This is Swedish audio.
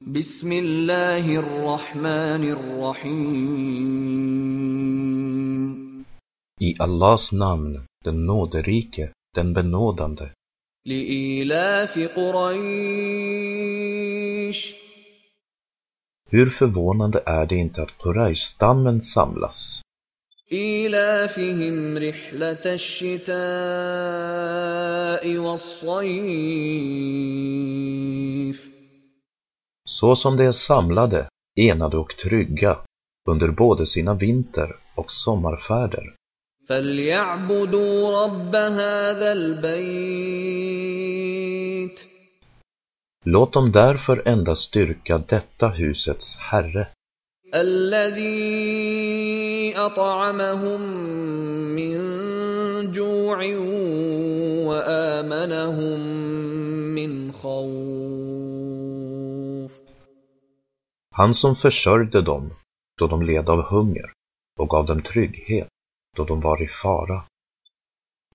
Bismillahirrahmanirrahim. I Allahs namn, den nåderike, den benådande. Li'ilafi Quraysh. Hur förvånande är det inte att Quraysh-stammen samlas? إيلافهم رحلة الشتاء والصيف. Så som de är samlade, enade och trygga under både sina vinter- och sommarfärder. فليعبدوا رب هذا البيت. Låt dem därför endast styrka detta husets herre. الذي أطعمهم من جوع وآمنهم من خوف. Han som försörjde dem då de led av hunger och gav dem trygghet då de var i fara.